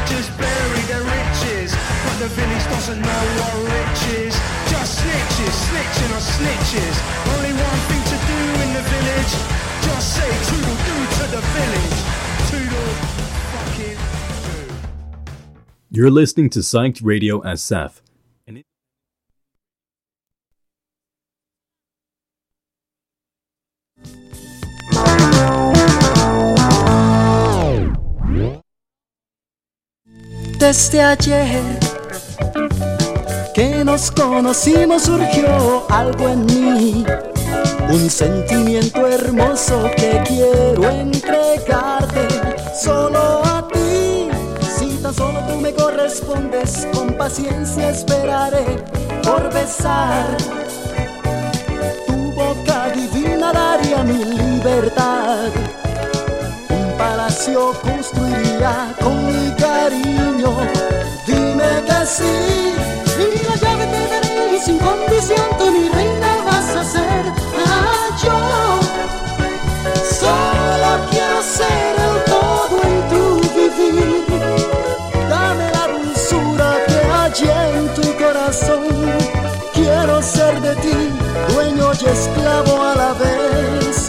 just bury their riches, but the village doesn't know what rich is. Just snitches, snitching on snitches. Only one thing to do in the village, just say toodle-doo to the village. Toodle fucking doo. You're listening to Psyched Radio SF. Desde ayer que nos conocimos surgió algo en mí, un sentimiento hermoso que quiero entregarte solo a ti. Si tan solo tú me correspondes, con paciencia esperaré por besar tu boca divina, daría mi libertad. Un palacio construiría con mi cariño, dime que sí, y la llave te daré y sin condición tú mi reina vas a ser. Yo solo quiero ser el todo en tu vivir, dame la dulzura que hay en tu corazón. Quiero ser de ti, dueño y esclavo a la vez.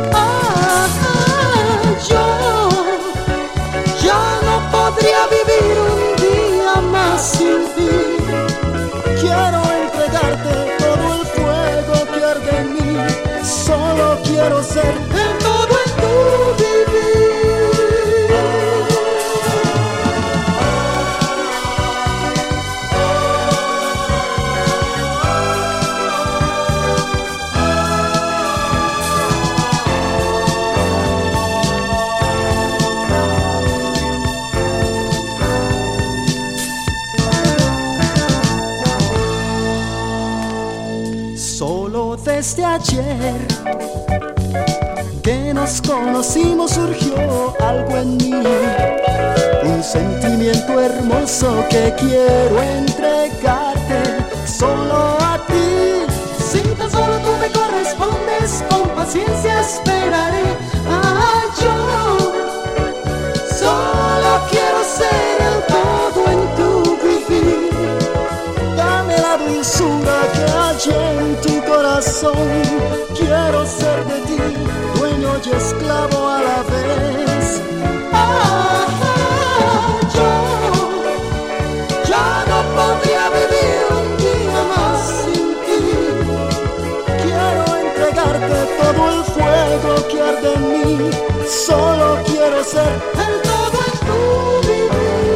Yo no podría vivir un día más sin ti. Quiero entregarte todo el fuego que arde en mí. Solo quiero ser el todo en tu vivir. Desde ayer que nos conocimos surgió algo en mí, un sentimiento hermoso que quiero entregarte solo a ti. Si tan solo tú me correspondes, con paciencia esperaré. Yo solo quiero ser el todo en tu vivir, dame la dulzura que hay en tu corazón. Quiero ser de ti, dueño y esclavo a la vez. Yo ya no podría vivir un día más sin ti. Quiero entregarte todo el fuego que arde en mí. Solo quiero ser el todo en tu vivir.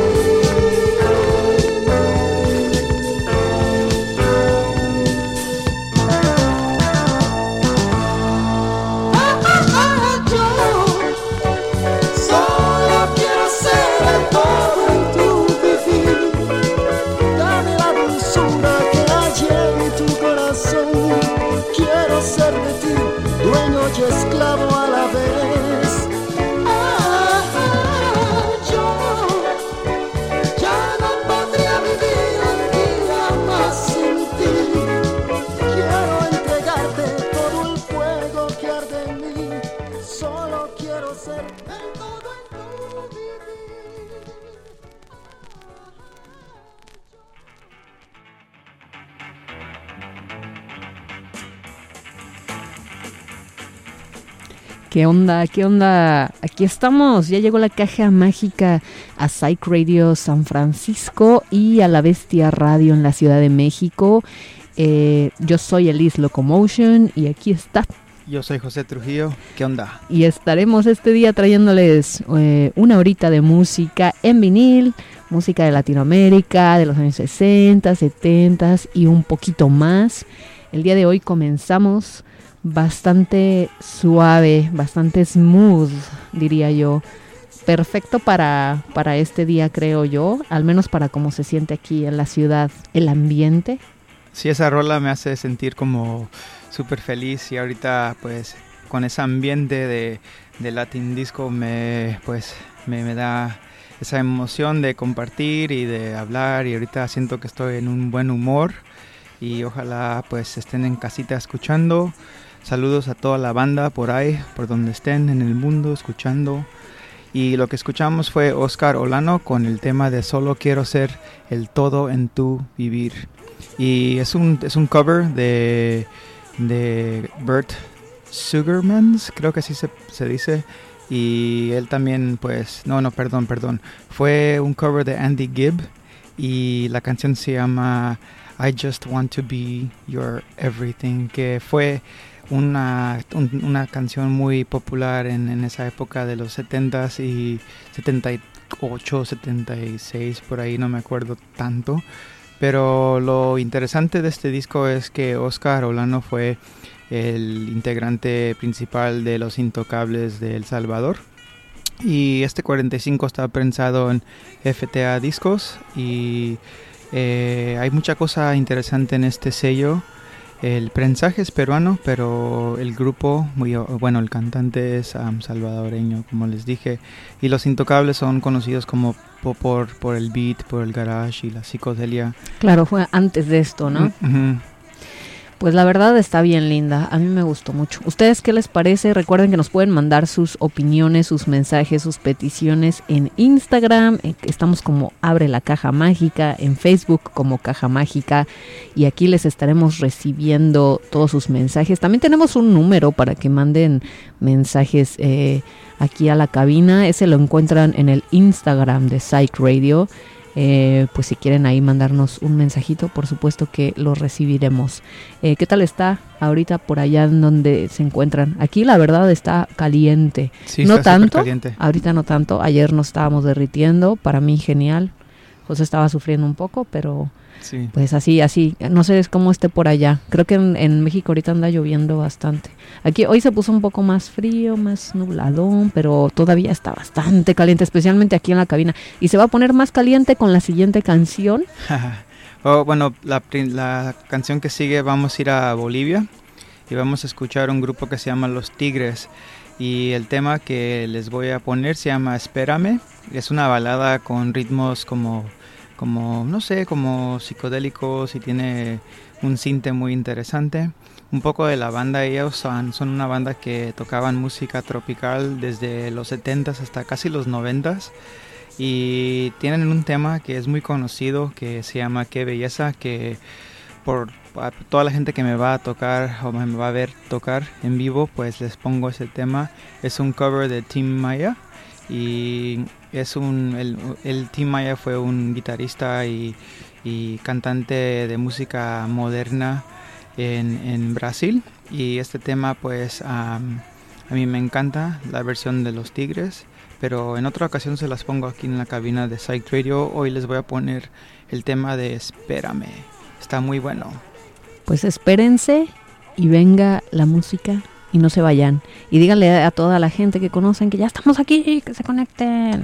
Y esclavo a la vez. Yo ya no podría vivir un día más sin ti. Quiero entregarte todo el fuego que arde en mí. Solo quiero ser el todo en tu vivir. ¿Qué onda? ¿Qué onda? Aquí estamos, ya llegó la caja mágica a Psyched Radio San Francisco y a La Bestia Radio en la Ciudad de México. Yo soy Elise Locomotion y aquí está. Yo soy José Trujillo, ¿qué onda? Y estaremos este día trayéndoles una horita de música en vinil, música de Latinoamérica, de los años 60, 70 y un poquito más. El día de hoy comenzamos bastante suave, bastante smooth, diría yo. Perfecto para este día, creo yo, al menos para cómo se siente aquí en la ciudad, el ambiente. Sí, esa rola me hace sentir como súper feliz y ahorita pues con ese ambiente de Latin Disco me da esa emoción de compartir y de hablar y ahorita siento que estoy en un buen humor y ojalá pues estén en casita escuchando. Saludos a toda la banda por ahí, por donde estén en el mundo escuchando. Y lo que escuchamos fue Oscar Olano con el tema de Solo quiero ser el todo en tu vivir. Y es un cover de Bert Sugarmans, creo que así se dice. Y él también, pues, perdón. Fue un cover de Andy Gibb y la canción se llama I Just Want to Be Your Everything, que fue una canción muy popular en esa época de los 70s y 78, 76, por ahí no me acuerdo tanto. Pero lo interesante de este disco es que Oscar Olano fue el integrante principal de Los Intocables de El Salvador. Y este 45 está prensado en FTA Discos y hay mucha cosa interesante en este sello. El prensaje es peruano, pero el grupo, el cantante es salvadoreño, como les dije. Y Los Intocables son conocidos como por el beat, por el garage y la psicodelia. Claro, fue antes de esto, ¿no? Uh-huh. Pues la verdad está bien linda, a mí me gustó mucho. ¿Ustedes qué les parece? Recuerden que nos pueden mandar sus opiniones, sus mensajes, sus peticiones en Instagram. Estamos como Abre la Caja Mágica, en Facebook como Caja Mágica, y aquí les estaremos recibiendo todos sus mensajes. También tenemos un número para que manden mensajes aquí a la cabina. Ese lo encuentran en el Instagram de Psych Radio. Pues si quieren ahí mandarnos un mensajito, por supuesto que lo recibiremos. ¿Qué tal está ahorita por allá en donde se encuentran? Aquí la verdad está caliente. Sí, no está tanto, caliente. Ahorita no tanto. Ayer nos estábamos derritiendo, para mí genial. José estaba sufriendo un poco, pero sí. Pues así. No sé cómo esté por allá. Creo que en México ahorita anda lloviendo bastante. Aquí hoy se puso un poco más frío, más nubladón, pero todavía está bastante caliente, especialmente aquí en la cabina. Y se va a poner más caliente con la siguiente canción. La canción que sigue, vamos a ir a Bolivia y vamos a escuchar un grupo que se llama Los Tigres. Y el tema que les voy a poner se llama Espérame. Es una balada con ritmos como psicodélicos, y tiene un sinte muy interesante. Un poco de la banda, ellos son una banda que tocaban música tropical desde los 70s hasta casi los 90s. Y tienen un tema que es muy conocido que se llama Qué Belleza, que por toda la gente que me va a tocar o me va a ver tocar en vivo, pues les pongo ese tema. Es un cover de Tim Maya y el Tim Maya fue un guitarrista y cantante de música moderna en Brasil, y este tema pues a mí me encanta la versión de Los Tigres, pero en otra ocasión se las pongo aquí en la cabina de Psych Radio. Hoy les voy a poner el tema de Espérame, está muy bueno. Pues espérense y venga la música y no se vayan. Y díganle a toda la gente que conocen que ya estamos aquí, que se conecten.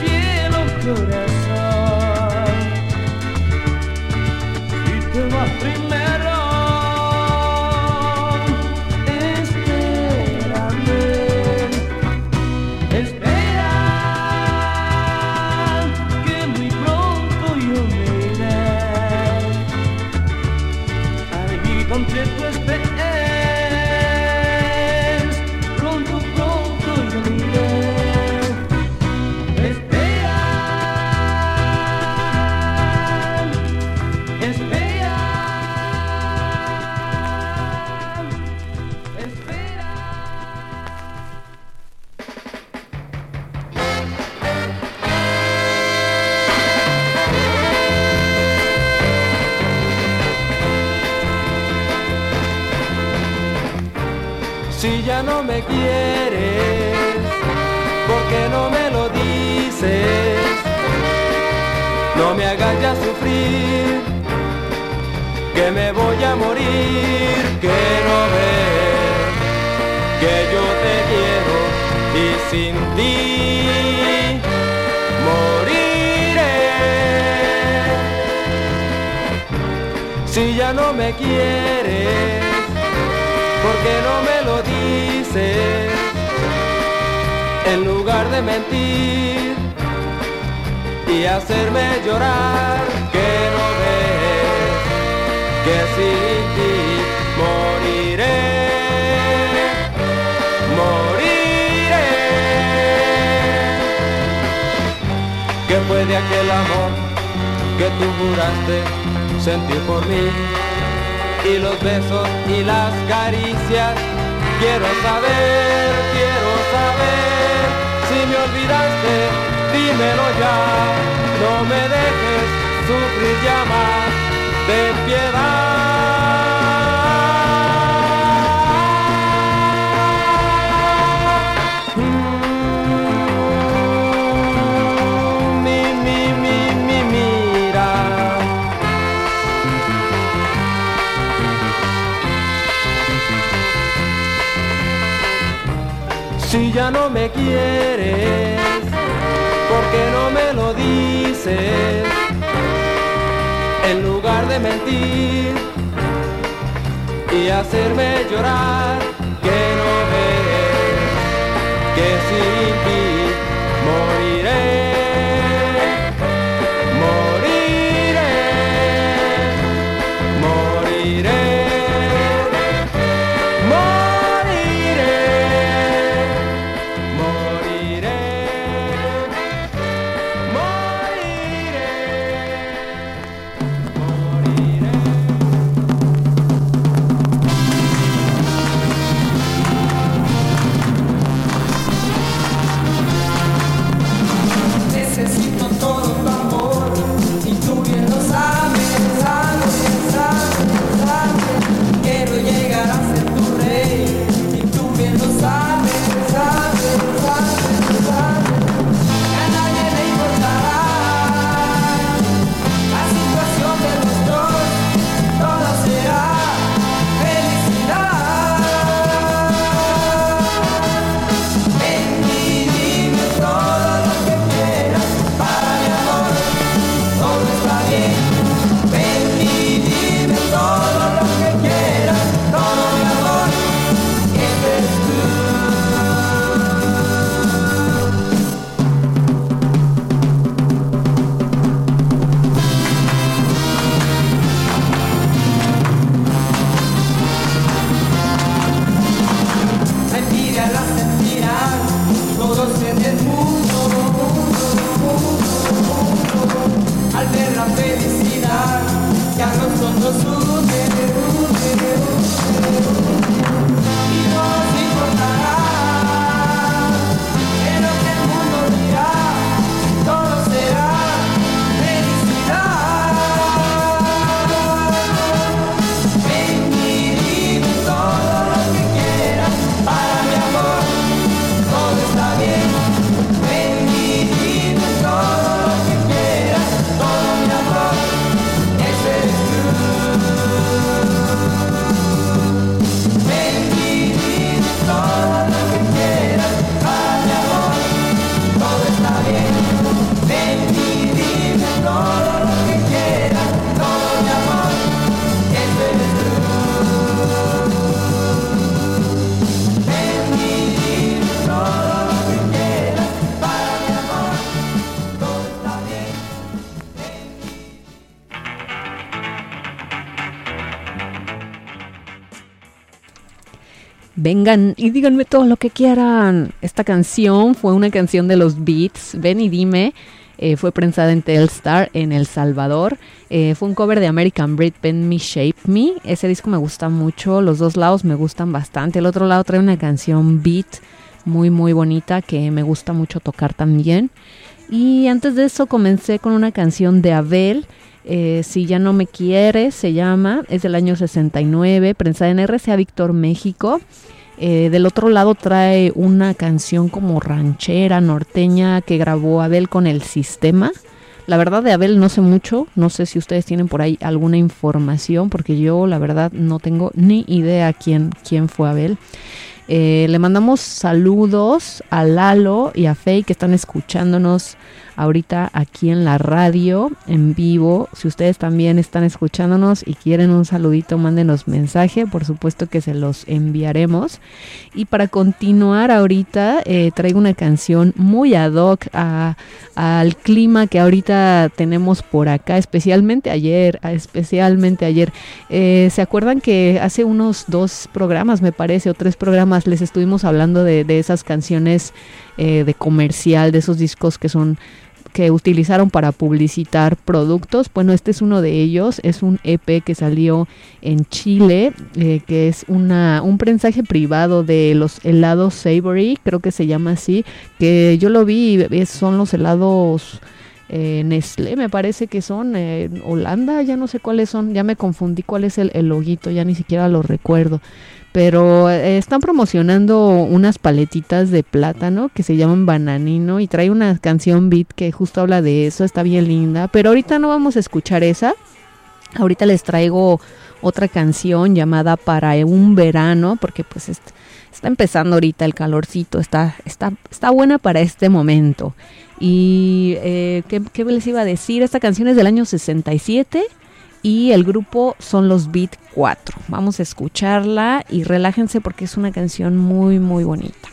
corazón y te va a Si ya no me quieres, ¿por qué no me lo dices? No me hagas ya sufrir, que me voy a morir. Que no ves que yo te quiero y sin ti moriré. Si ya no me quieres, ¿por qué no me lo dices? En lugar de mentir y hacerme llorar, que no ves que sin ti moriré, moriré. ¿Qué fue de aquel amor que tú juraste sentir por mí? Y los besos y las caricias, quiero saber si me olvidaste, dímelo ya, no me dejes sufrir ya más, ten piedad. Mira. Si ya no me quieres, ¿por qué no me lo dices? En lugar de mentir y hacerme llorar, que no ves que sin ti moriré. Vengan y díganme todo lo que quieran. Esta canción fue una canción de los Beats, Ven y Dime. Fue prensada en Telstar en El Salvador. Fue un cover de American Breed, Bend Me, Shape Me. Ese disco me gusta mucho. Los dos lados me gustan bastante. El otro lado trae una canción beat muy muy bonita que me gusta mucho tocar también. Y antes de eso comencé con una canción de Abel. Si ya no me quieres, se llama. Es del año 69, prensada en RCA Víctor, México. Del otro lado trae una canción como ranchera, norteña, que grabó Abel con El Sistema. La verdad de Abel no sé mucho, no sé si ustedes tienen por ahí alguna información, porque yo la verdad no tengo ni idea quién fue Abel. Le mandamos saludos a Lalo y a Faye que están escuchándonos ahorita aquí en la radio en vivo. Si ustedes también están escuchándonos y quieren un saludito, mándenos mensaje, por supuesto que se los enviaremos. Y para continuar ahorita traigo una canción muy ad hoc al clima que ahorita tenemos por acá, especialmente ayer. ¿Se acuerdan que hace unos 2 programas, me parece, o 3 programas les estuvimos hablando de esas canciones de comercial, de esos discos que utilizaron para publicitar productos? Bueno, este es uno de ellos, es un EP que salió en Chile, que es un prensaje privado de los helados Savory, creo que se llama así, que yo lo vi, son los helados Nestlé, me parece que son Holanda, ya no sé cuáles son, ya me confundí cuál es el loguito, ya ni siquiera lo recuerdo. Pero están promocionando unas paletitas de plátano que se llaman Bananino y trae una canción beat que justo habla de eso, está bien linda. Pero ahorita no vamos a escuchar esa, ahorita les traigo otra canción llamada Para un Verano, porque pues está empezando ahorita el calorcito, está buena para este momento. Y ¿qué les iba a decir? Esta canción es del año 67. Y el grupo son los Beat 4. Vamos a escucharla y relájense porque es una canción muy, muy bonita.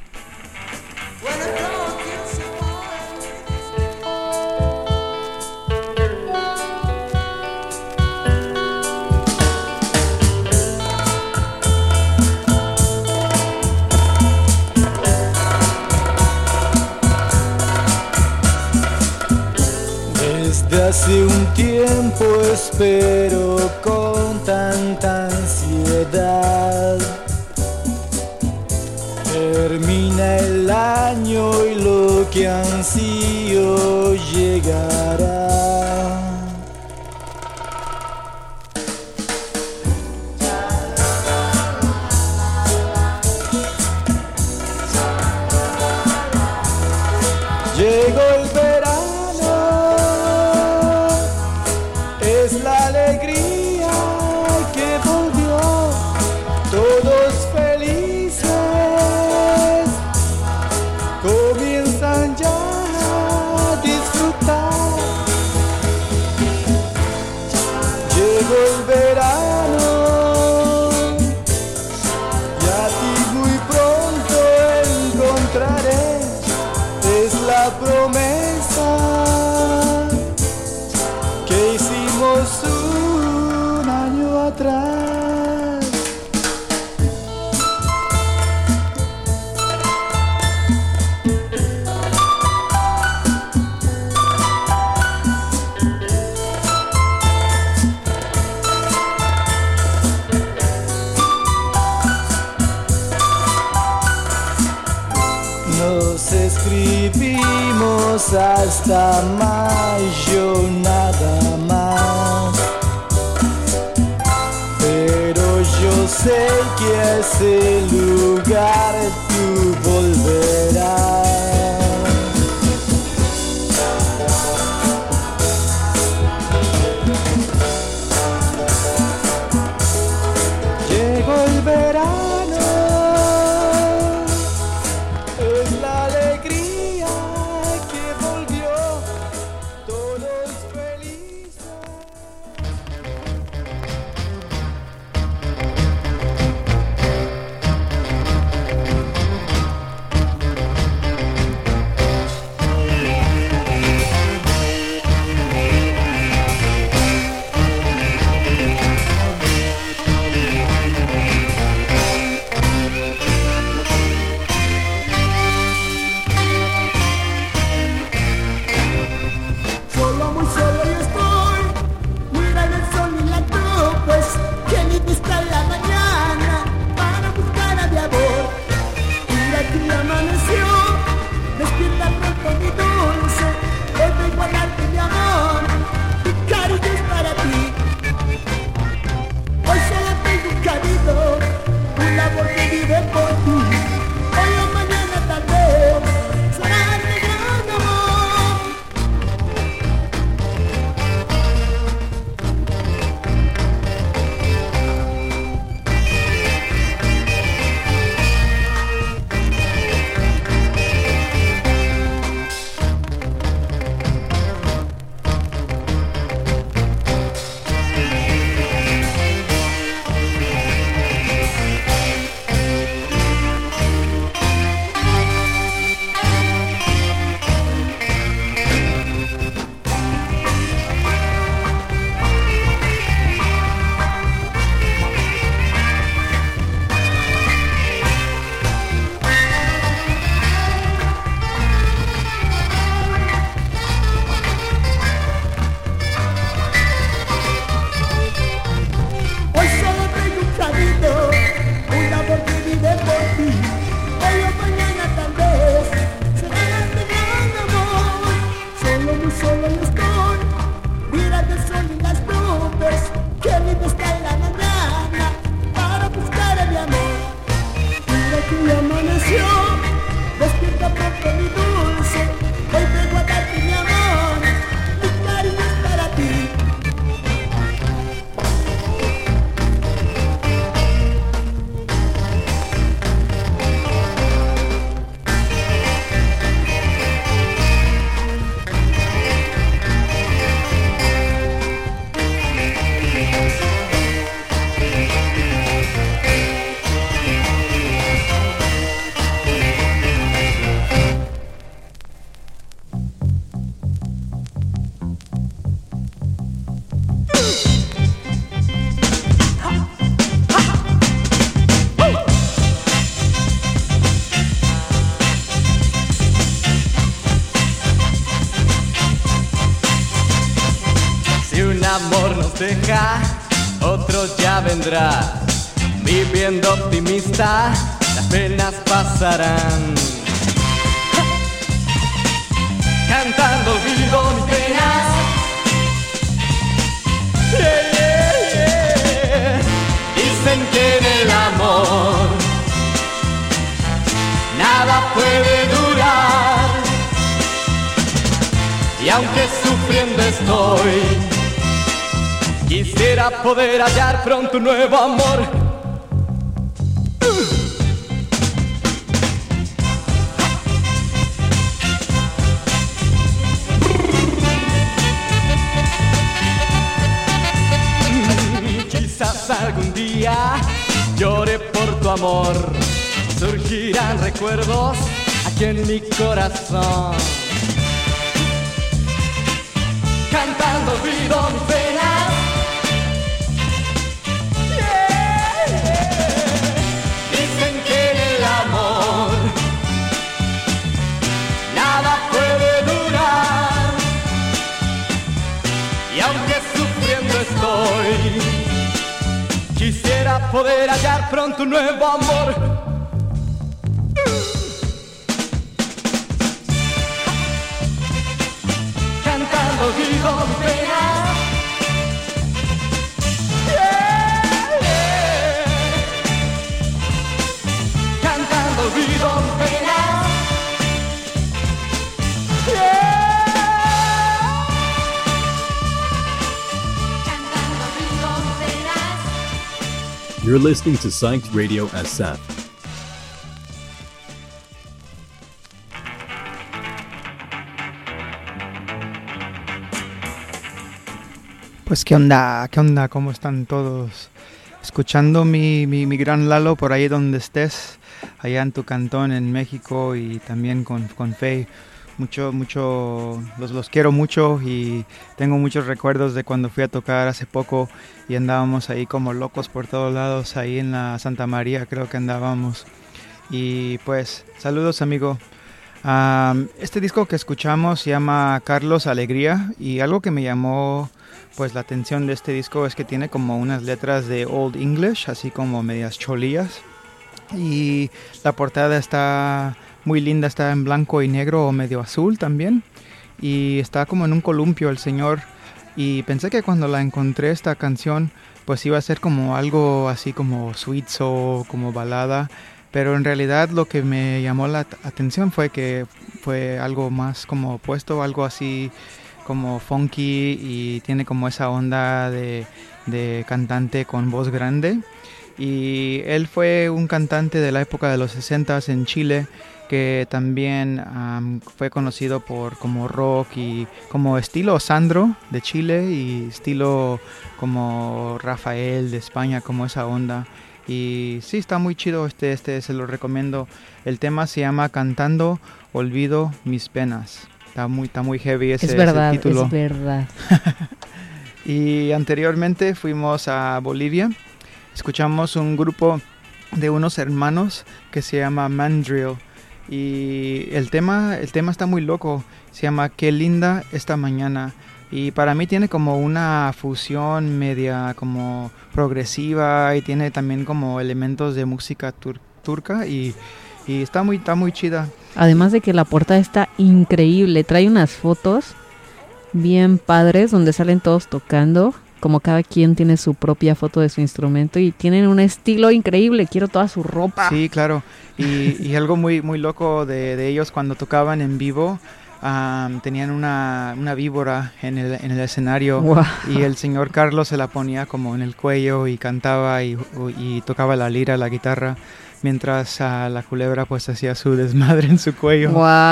Desde hace un tiempo espero con tanta ansiedad. Termina el año y lo que ansío llegará. Llegó el verano. Es la alegría que volvió, todos felices, comienzan ya a disfrutar. Llegó el verano y a ti muy pronto encontraré, es la promesa que hicimos un año atrás. Nos escribimos hasta mayo nada más, pero yo sé que a ese lugar tú volverás. Llegó el verano, es la alegría que volvió, todos felices. Solo, muy solo yo estoy, mira el sol y la cruz, pues que ni vista en la mañana para buscar a mi amor. Mira que ya amaneció, despierta pronto mi dulce, hoy vengo a darte mi amor, mi cariño es para ti. Hoy solo tengo un cariño, un amor que vive por amor nos deja, otro ya vendrá. Viviendo optimista, las penas pasarán. Cantando olvido mis penas. Yeah, yeah, yeah. Dicen que en el amor nada puede durar. Y aunque sufriendo estoy, quisiera poder hallar pronto un nuevo amor. Quizás algún día llore por tu amor, surgirán recuerdos aquí en mi corazón. Cantando olvido mis penas. Yeah, yeah. Dicen que en el amor nada puede durar. Y aunque sufriendo estoy, quisiera poder hallar pronto un nuevo amor. Cantando olvido mis penas. Yeah, yeah. Cantando olvido mis penas. Yeah. Cantando olvido mis penas. You're listening to Psyched Radio SF. Pues qué onda, ¿cómo están todos? Escuchando mi gran Lalo por ahí donde estés, allá en tu cantón en México y también con Faye. Los quiero mucho y tengo muchos recuerdos de cuando fui a tocar hace poco y andábamos ahí como locos por todos lados, ahí en la Santa María creo que andábamos. Y pues, saludos amigo. Este disco que escuchamos se llama Carlos Alegría y algo que me llamó pues la atención de este disco es que tiene como unas letras de Old English, así como medias cholías. Y la portada está muy linda, está en blanco y negro o medio azul también. Y está como en un columpio el señor. Y pensé que cuando la encontré esta canción pues iba a ser como algo así como sweet soul, como balada. Pero en realidad lo que me llamó la atención fue que fue algo más como opuesto, algo así como funky y tiene como esa onda de cantante con voz grande. Y él fue un cantante de la época de los 60s en Chile que también fue conocido por como rock y como estilo Sandro de Chile y estilo como Rafael de España, como esa onda. Y sí, está muy chido este se lo recomiendo. El tema se llama Cantando Olvido Mis Penas. Está muy heavy ese título. Es verdad. Y anteriormente fuimos a Bolivia. Escuchamos un grupo de unos hermanos que se llama Mandrill. Y el tema está muy loco. Se llama Qué linda esta mañana. Y para mí tiene como una fusión media como progresiva. Y tiene también como elementos de música turca. Y está muy chida. Además de que la portada está increíble, trae unas fotos bien padres donde salen todos tocando, como cada quien tiene su propia foto de su instrumento y tienen un estilo increíble, quiero toda su ropa. Sí, claro, y algo muy loco de ellos cuando tocaban en vivo, tenían una víbora en el escenario. Wow. Y el señor Carlos se la ponía como en el cuello y cantaba y tocaba la lira, la guitarra. Mientras la culebra pues hacía su desmadre en su cuello.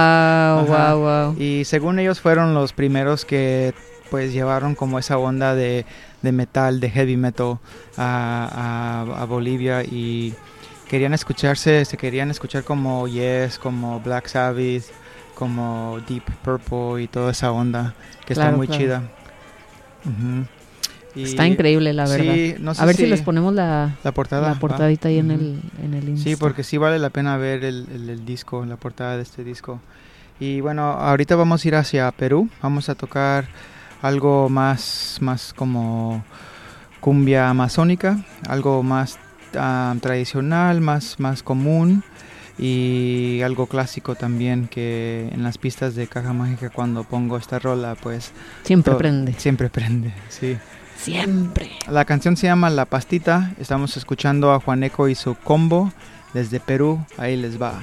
Wow. Y según ellos fueron los primeros que pues llevaron como esa onda de metal, de heavy metal a Bolivia y se querían escuchar como Yes, como Black Sabbath, como Deep Purple y toda esa onda que está muy chida. Uh-huh. Está increíble, la verdad. Sí, no sé a ver si les ponemos la portadita ahí en el Insta. Sí, porque sí vale la pena ver el disco, la portada de este disco. Y bueno, ahorita vamos a ir hacia Perú. Vamos a tocar algo más como cumbia amazónica, algo más tradicional, más común, y algo clásico también, que en las pistas de Caja Mágica cuando pongo esta rola pues Siempre prende. Siempre prende, sí. Siempre. La canción se llama La Pastita. Estamos escuchando a Juaneco y su combo desde Perú. Ahí les va.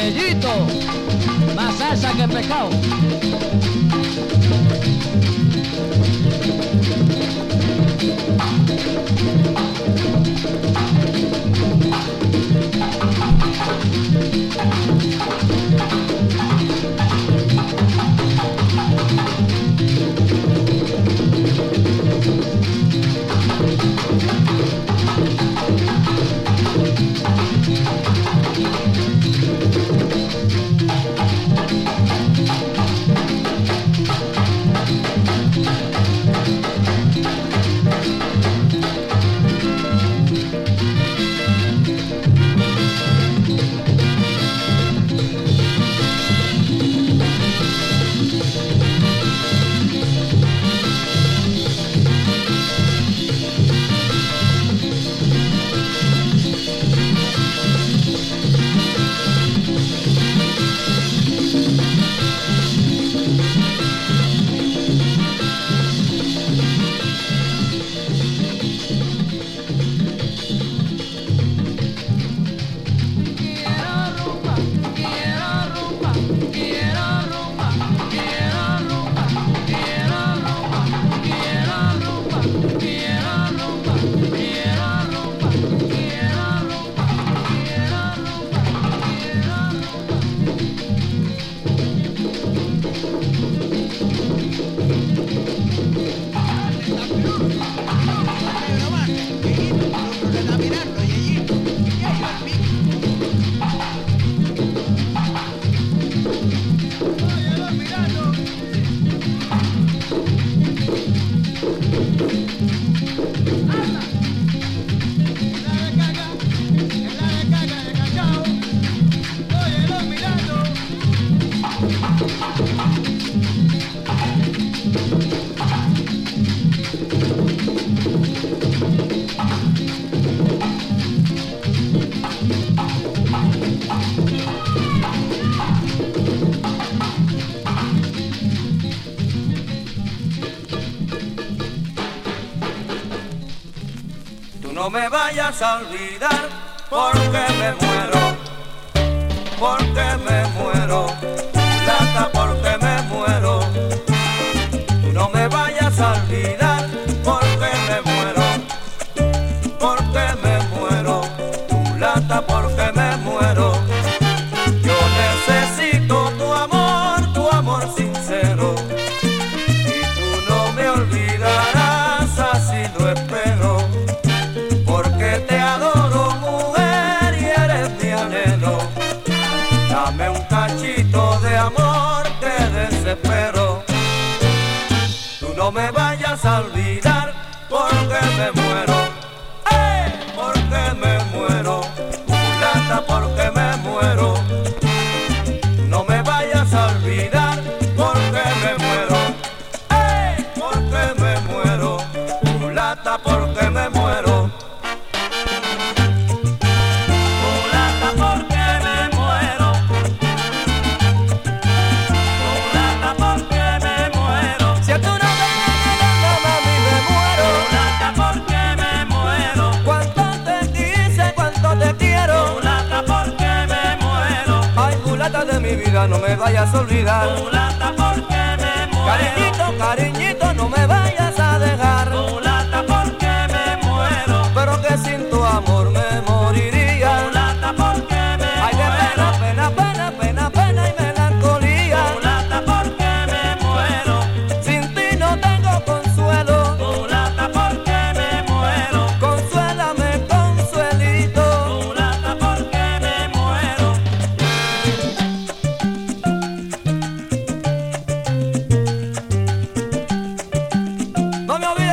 Yeyito, más salsa que pescado. No me vayas a olvidar porque me muero, porque me muero, plata porque me muero. Tú no me vayas a olvidar porque me muero, porque me muero, plata porque me muero. Yo necesito tu amor sincero, y tú no me olvidarás, así lo espero. Te adoro, mujer, y eres mi anhelo. Dame un cachito de amor, te desespero. Tú no me vayas a olvidar porque me muero, porque me muero, mulata porque me muero. No me vayas a olvidar porque me muero, porque me muero, mulata porque me muero. De mi vida no me vayas a olvidar, mulata porque me muero. Cariñito, cariñito, no me vayas a dejar, mulata porque me muero. Pero que sin tu amor me moriría, mulata porque me muero. Ay, de pena, pena, pena, pena, pena y melancolía, mulata porque me muero. Sin ti no tengo consuelo, mulata porque me muero. Consuélame, consuelito, mulata porque me muero. No me olvides.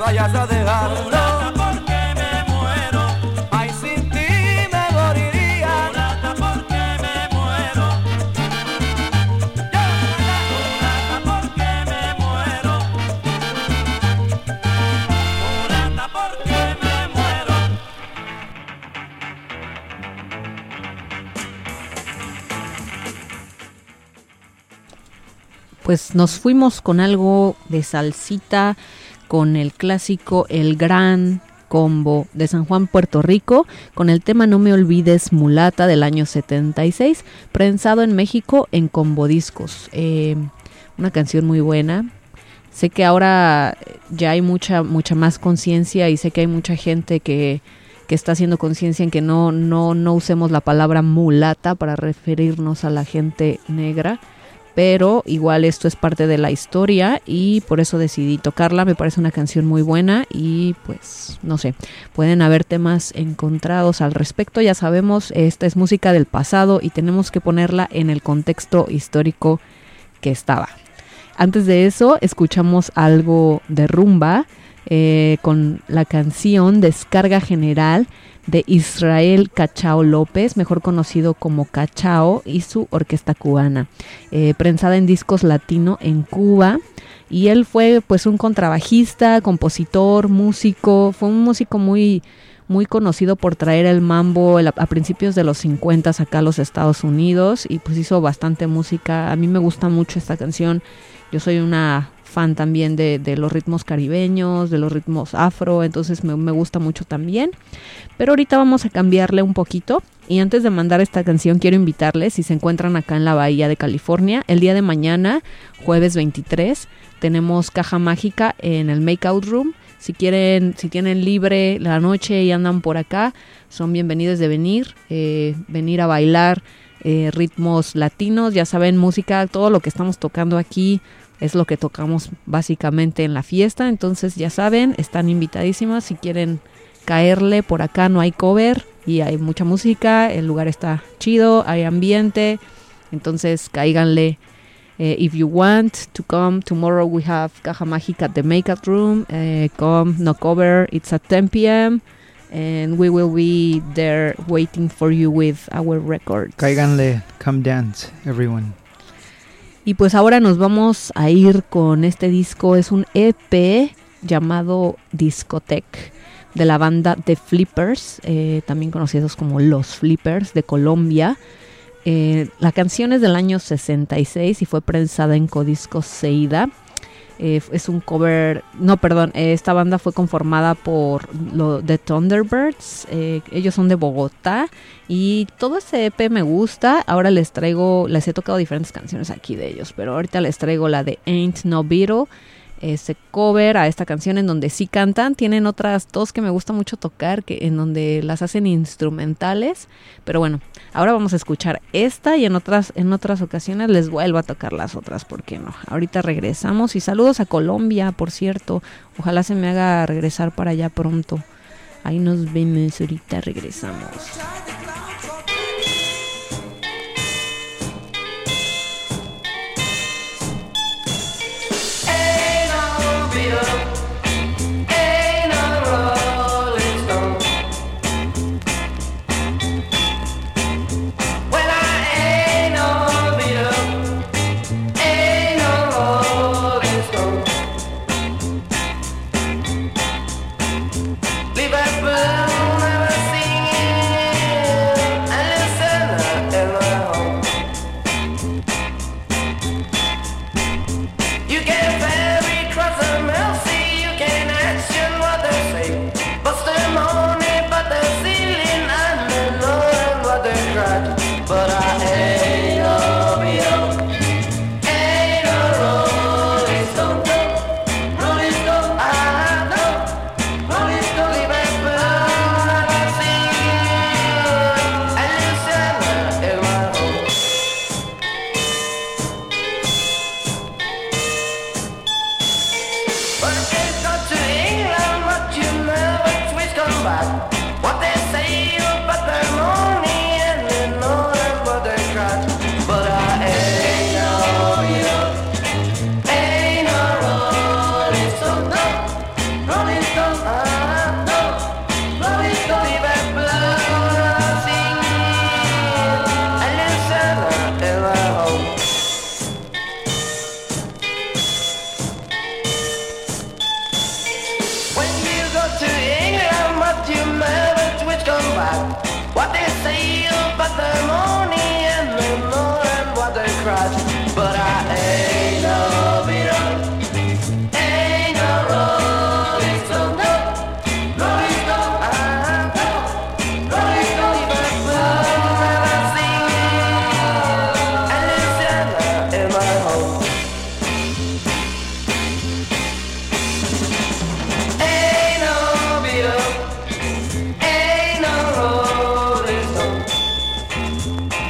vayas a dejar. Mulata, porque me muero. Ay, sin ti me moriría. Mulata, porque me muero. Mulata, porque me muero. Mulata, porque me muero. Pues nos fuimos con algo de salsita, con el clásico El Gran Combo de San Juan, Puerto Rico, con el tema No me olvides Mulata del año 76, prensado en México en Combo Discos. Una canción muy buena. Sé que ahora ya hay mucha más conciencia y sé que hay mucha gente que está haciendo conciencia en que no usemos la palabra mulata para referirnos a la gente negra. Pero igual esto es parte de la historia y por eso decidí tocarla. Me parece una canción muy buena y pues no sé, pueden haber temas encontrados al respecto. Ya sabemos, esta es música del pasado y tenemos que ponerla en el contexto histórico que estaba. Antes de eso escuchamos algo de rumba con la canción Descarga General de Israel Cachao López, mejor conocido como Cachao, y su orquesta cubana, prensada en Discos Latino en Cuba. Y él fue pues un contrabajista, compositor, músico, fue un músico muy conocido por traer el mambo a principios de los 50 acá a los Estados Unidos y pues hizo bastante música. A mí me gusta mucho esta canción, yo soy una fan también de los ritmos caribeños, de los ritmos afro, entonces me gusta mucho también. Pero ahorita vamos a cambiarle un poquito y antes de mandar esta canción quiero invitarles, si se encuentran acá en la Bahía de California, el día de mañana, jueves 23, tenemos Caja Mágica en el Makeout Room. Si tienen libre la noche y andan por acá, son bienvenidos de venir a bailar ritmos latinos, ya saben, música, todo lo que estamos tocando aquí es lo que tocamos básicamente en la fiesta, entonces ya saben, están invitadísimas si quieren caerle por acá, no hay cover y hay mucha música, el lugar está chido, hay ambiente, entonces cáiganle. If you want to come, tomorrow we have Caja Mágica at the Makeup Room, come, no cover, it's at 10 p.m. and we will be there waiting for you with our records. Cáiganle, come dance, everyone. Y pues ahora nos vamos a ir con este disco, es un EP llamado Discotech de la banda The Flippers, también conocidos como Los Flippers de Colombia. La canción es del año 66 y fue prensada en Codiscos Seida. Es un cover, esta banda fue conformada por The Thunderbirds, ellos son de Bogotá y todo ese EP me gusta. Ahora les he tocado diferentes canciones aquí de ellos, pero ahorita les traigo la de Ain't No Beetle, ese cover a esta canción en donde sí cantan. Tienen otras dos que me gusta mucho tocar, en donde las hacen instrumentales, pero bueno, ahora vamos a escuchar esta y en otras ocasiones les vuelvo a tocar las otras, ¿por qué no? Ahorita regresamos y saludos a Colombia, por cierto, ojalá se me haga regresar para allá pronto. Ahí nos vemos, ahorita regresamos. Rolling what they say about the money and the more and what they cry. But I ain't no Beatle, ain't no Rolling Stone, no, Rolling Stone, Rolling Stone, even when I sing and Louisiana in my home. Ain't no Beatle, ain't no Rolling Stone.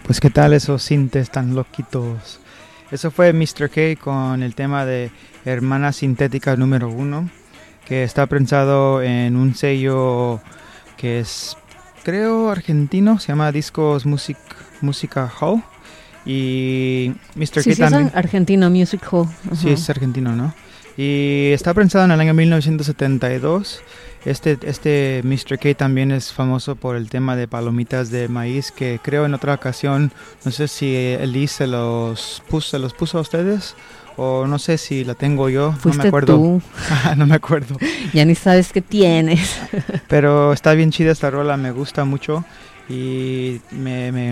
pues qué tal esos sintes tan loquitos. Eso fue Mr. K con el tema de Hermana Sintética número 1, que está pensado en un sello que es, creo, argentino, se llama Discos Música Hall. Y Mr. K también. Es argentino, Music Hall. Sí, es argentino, ¿no? Y está pensado en el año 1972. Este Mr. K también es famoso por el tema de palomitas de maíz, que creo en otra ocasión, no sé si Elise se los puso a ustedes, o no sé si la tengo yo, Fuiste no me acuerdo. tú. No me acuerdo. Ya ni sabes qué tienes. Pero está bien chida esta rola, me gusta mucho y me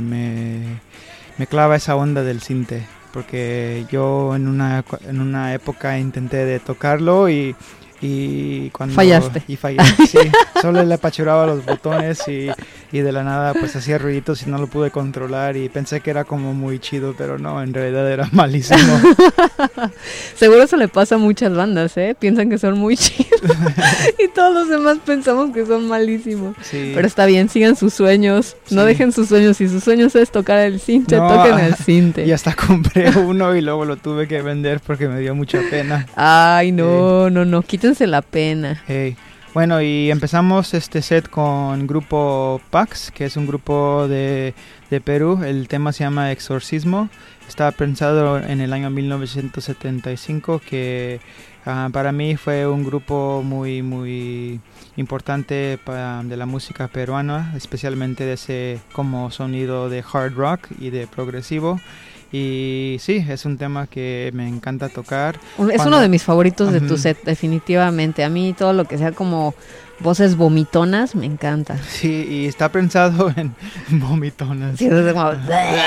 clava esa onda del sinte, porque yo en una época intenté de tocarlo y cuando fallaste. Y fallé, sí. Solo le apachurraba los botones y de la nada pues hacía ruiditos y no lo pude controlar y pensé que era como muy chido, pero no, en realidad era malísimo. Seguro eso le pasa a muchas bandas, piensan que son muy chidos y todos los demás pensamos que son malísimos. Sí. Pero está bien, sigan sus sueños, no Sí. dejen sus sueños. Si sus sueños es tocar el sinte, No, toquen el sinte. Y hasta compré uno y luego lo tuve que vender porque me dio mucha pena. Ay, no, quítense la pena. Hey. Bueno, y empezamos este set con grupo Pax, que es un grupo de Perú. El tema se llama Exorcismo. Está pensado en el año 1975, que para mí fue un grupo muy, muy importante de la música peruana, especialmente de ese como sonido de hard rock y de progresivo. Y sí, es un tema que me encanta tocar. Es uno de mis favoritos de tu set, definitivamente. A mí todo lo que sea como voces vomitonas me encanta. Sí, y está pensado en vomitonas. Sí, es como...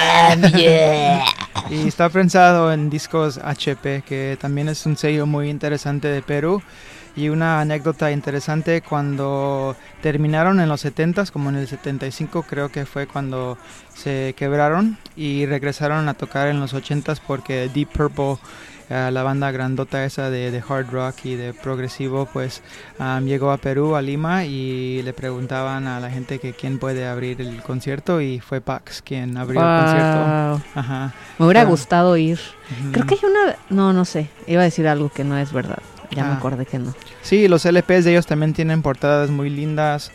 Y está pensado en Discos HP, que también es un sello muy interesante de Perú. Y una anécdota interesante, cuando terminaron en los 70s, como en el 75 creo que fue cuando se quebraron y regresaron a tocar en los 80s porque Deep Purple, la banda grandota esa de hard rock y de progresivo, pues llegó a Perú, a Lima, y le preguntaban a la gente que quién puede abrir el concierto, y fue Pax quien abrió el concierto. Ajá. Me hubiera gustado ir. Creo que hay una... No sé, iba a decir algo que no es verdad. Ya me acordé que no. Sí, los LPs de ellos también tienen portadas muy lindas.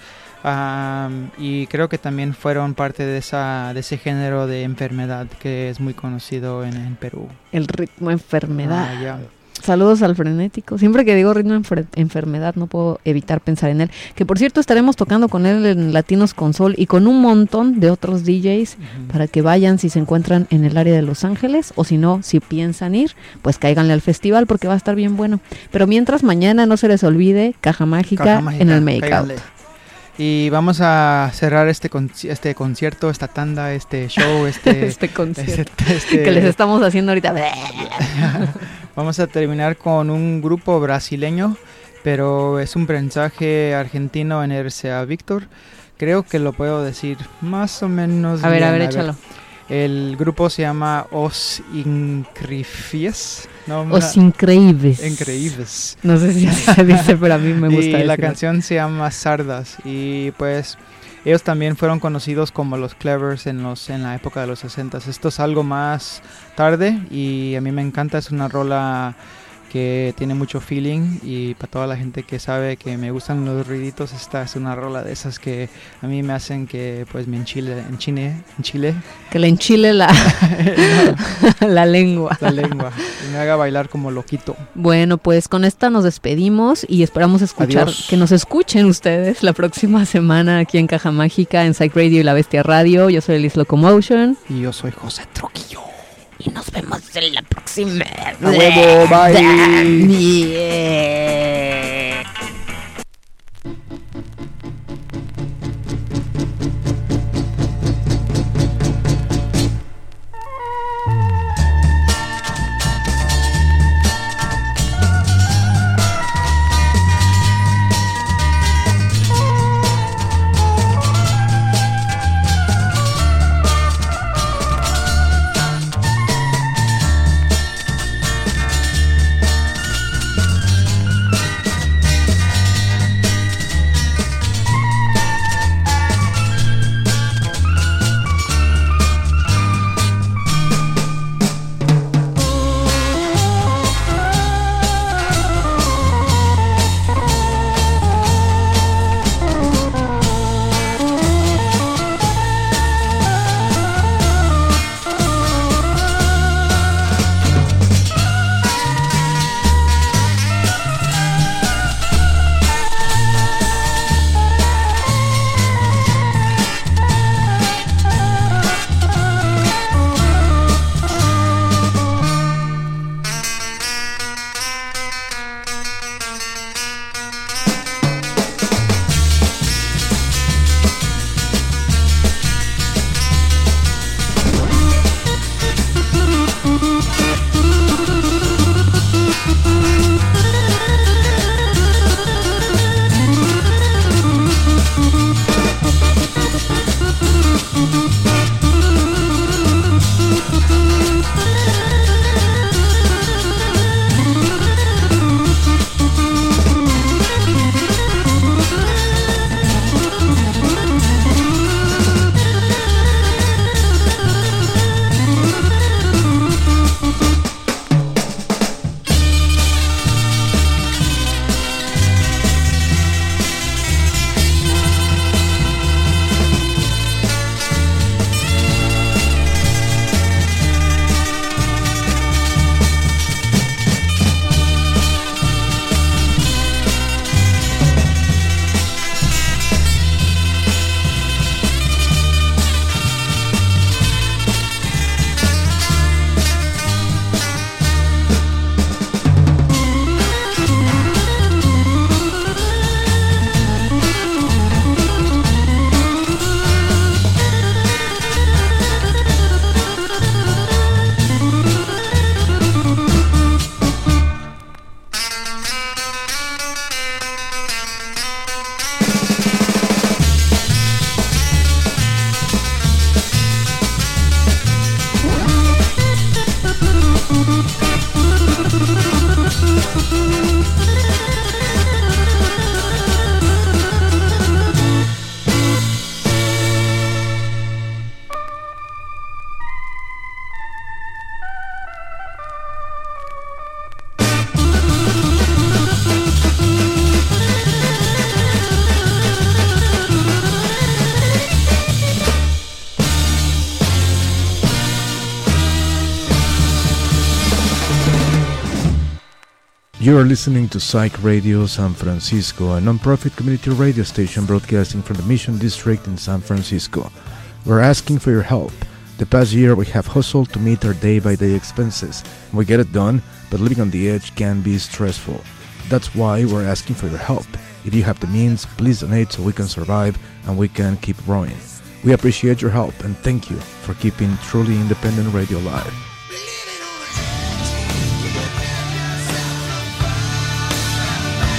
Y creo que también fueron parte de ese género de enfermedad que es muy conocido en Perú. El ritmo enfermedad. Ya. Saludos al frenético. Siempre que digo ritmo enfermedad no puedo evitar pensar en él. Que por cierto estaremos tocando con él en Latinos con Sol y con un montón de otros DJs para que vayan si se encuentran en el área de Los Ángeles, o si no, si piensan ir, pues cáiganle al festival porque va a estar bien bueno. Pero mientras, mañana no se les olvide Caja Mágica en el Make-Out. Y vamos a cerrar este concierto, esta tanda, este show, este concierto que les estamos haciendo ahorita. Vamos a terminar con un grupo brasileño, pero es un mensaje argentino en RCA Víctor. Creo que lo puedo decir más o menos bien. A ver, échalo. El grupo se llama Os Increíbles. Os Increíbles. Increíbles. No sé si así se dice, pero a mí me gusta Y decirlo. la canción se llama Sardas. Y pues ellos también fueron conocidos como los Clevers en la época de los 60s. Esto es algo más tarde y a mí me encanta. Es una rola que tiene mucho feeling, y para toda la gente que sabe que me gustan los ruiditos, esta es una rola de esas que a mí me hacen que pues me enchile. Que le enchile la lengua. La lengua. Y me haga bailar como loquito. Bueno, pues con esta nos despedimos y esperamos que nos escuchen ustedes la próxima semana aquí en Caja Mágica, en Psych Radio y La Bestia Radio. Yo soy Elis Locomotion. Y yo soy José Trujillo. Y nos vemos en la próxima. ¡A huevo! ¡Bye! Yeah. You are listening to Psych Radio San Francisco, a non-profit community radio station broadcasting from the Mission District in San Francisco. We're asking for your help. The past year we have hustled to meet our day-by-day expenses. We get it done, but living on the edge can be stressful. That's why we're asking for your help. If you have the means, please donate so we can survive and we can keep growing. We appreciate your help and thank you for keeping truly independent radio alive.